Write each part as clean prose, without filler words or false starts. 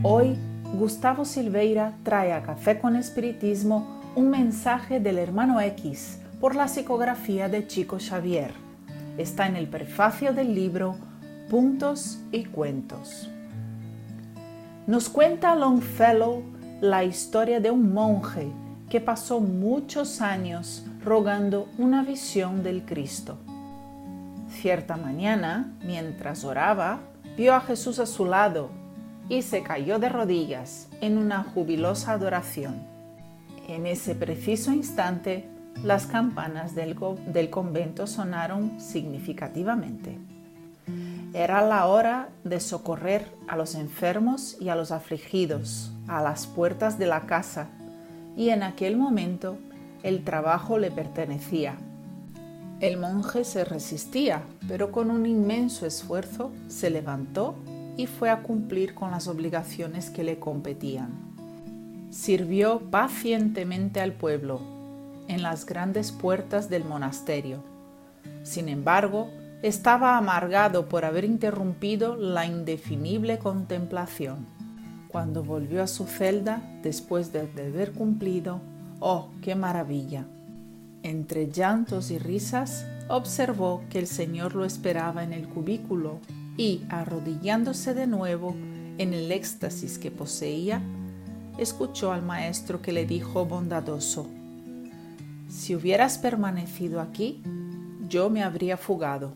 Hoy, Gustavo Silveira trae a Café con Espiritismo un mensaje del hermano X por la psicografía de Chico Xavier. Está en el prefacio del libro Puntos y Cuentos. Nos cuenta Longfellow la historia de un monje que pasó muchos años rogando una visión del Cristo. Cierta mañana, mientras oraba, vio a Jesús a su lado y se cayó de rodillas en una jubilosa adoración. En ese preciso instante, las campanas del convento sonaron significativamente. Era la hora de socorrer a los enfermos y a los afligidos a las puertas de la casa, y en aquel momento el trabajo le pertenecía. El monje se resistía, pero con un inmenso esfuerzo se levantó y fue a cumplir con las obligaciones que le competían. Sirvió pacientemente al pueblo en las grandes puertas del monasterio. Sin embargo, estaba amargado por haber interrumpido la indefinible contemplación. Cuando volvió a su celda, después de haber cumplido, ¡oh, qué maravilla! Entre llantos y risas, observó que el Señor lo esperaba en el cubículo y, arrodillándose de nuevo en el éxtasis que poseía, escuchó al maestro que le dijo bondadoso: «Si hubieras permanecido aquí, yo me habría fugado».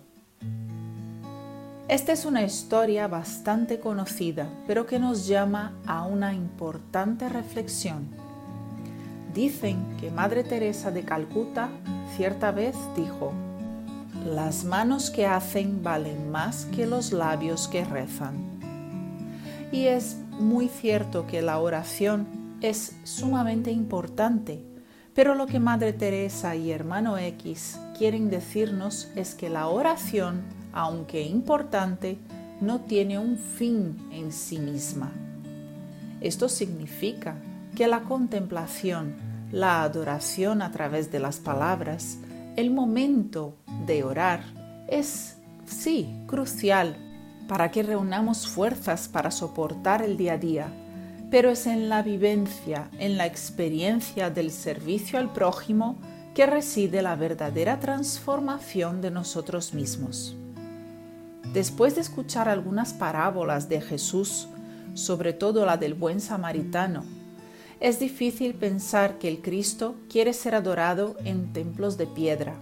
Esta es una historia bastante conocida, pero que nos llama a una importante reflexión. Dicen que Madre Teresa de Calcuta cierta vez dijo: «Las manos que hacen valen más que los labios que rezan». Y es muy cierto que la oración es sumamente importante, pero lo que Madre Teresa y hermano X quieren decirnos es que la oración, aunque importante, no tiene un fin en sí misma. Esto significa que la contemplación, la adoración a través de las palabras, el momento de orar es, sí, crucial para que reunamos fuerzas para soportar el día a día, pero es en la vivencia, en la experiencia del servicio al prójimo que reside la verdadera transformación de nosotros mismos. Después de escuchar algunas parábolas de Jesús, sobre todo la del buen samaritano, es difícil pensar que el Cristo quiere ser adorado en templos de piedra.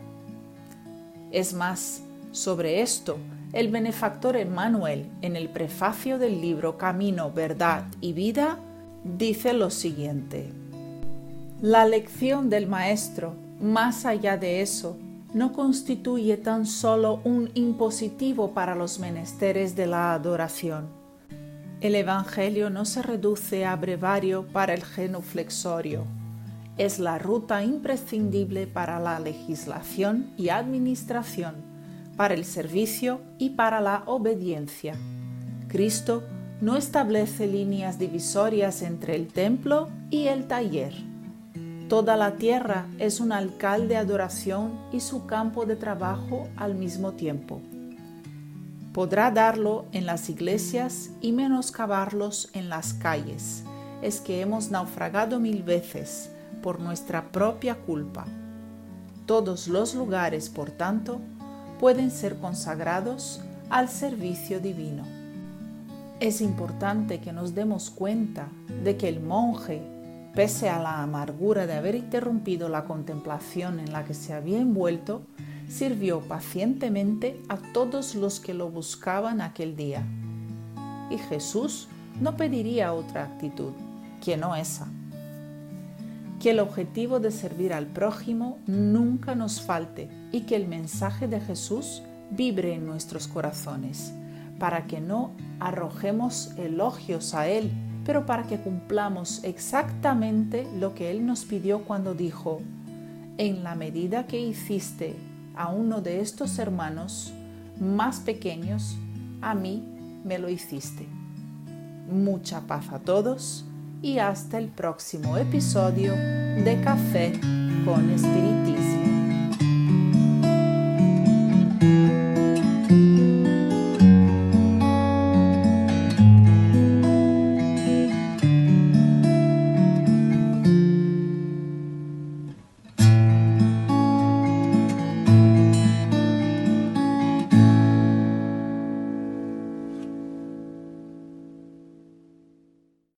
Es más, sobre esto, el benefactor Emmanuel, en el prefacio del libro Camino, Verdad y Vida, dice lo siguiente: «La lección del Maestro, más allá de eso, no constituye tan solo un impositivo para los menesteres de la adoración. El Evangelio no se reduce a brevario para el genuflexorio. Es la ruta imprescindible para la legislación y administración, para el servicio y para la obediencia. Cristo no establece líneas divisorias entre el templo y el taller. Toda la tierra es un alcalde de adoración y su campo de trabajo al mismo tiempo. Podrá darlo en las iglesias y menoscabarlos en las calles. Es que hemos naufragado 1000 veces por nuestra propia culpa. Todos los lugares, por tanto, pueden ser consagrados al servicio divino». Es importante que nos demos cuenta de que el monje, pese a la amargura de haber interrumpido la contemplación en la que se había envuelto, sirvió pacientemente a todos los que lo buscaban aquel día. Y Jesús no pediría otra actitud que no esa. Que el objetivo de servir al prójimo nunca nos falte y que el mensaje de Jesús vibre en nuestros corazones, para que no arrojemos elogios a Él, pero para que cumplamos exactamente lo que Él nos pidió cuando dijo: «En la medida que hiciste a uno de estos hermanos más pequeños, a mí me lo hiciste». Mucha paz a todos y hasta el próximo episodio de Café con Espiritismo.